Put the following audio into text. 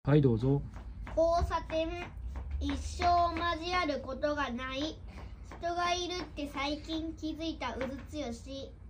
はい、どうぞ。 交差点、一生交わることがない人がいるって最近気づいたうずつよし。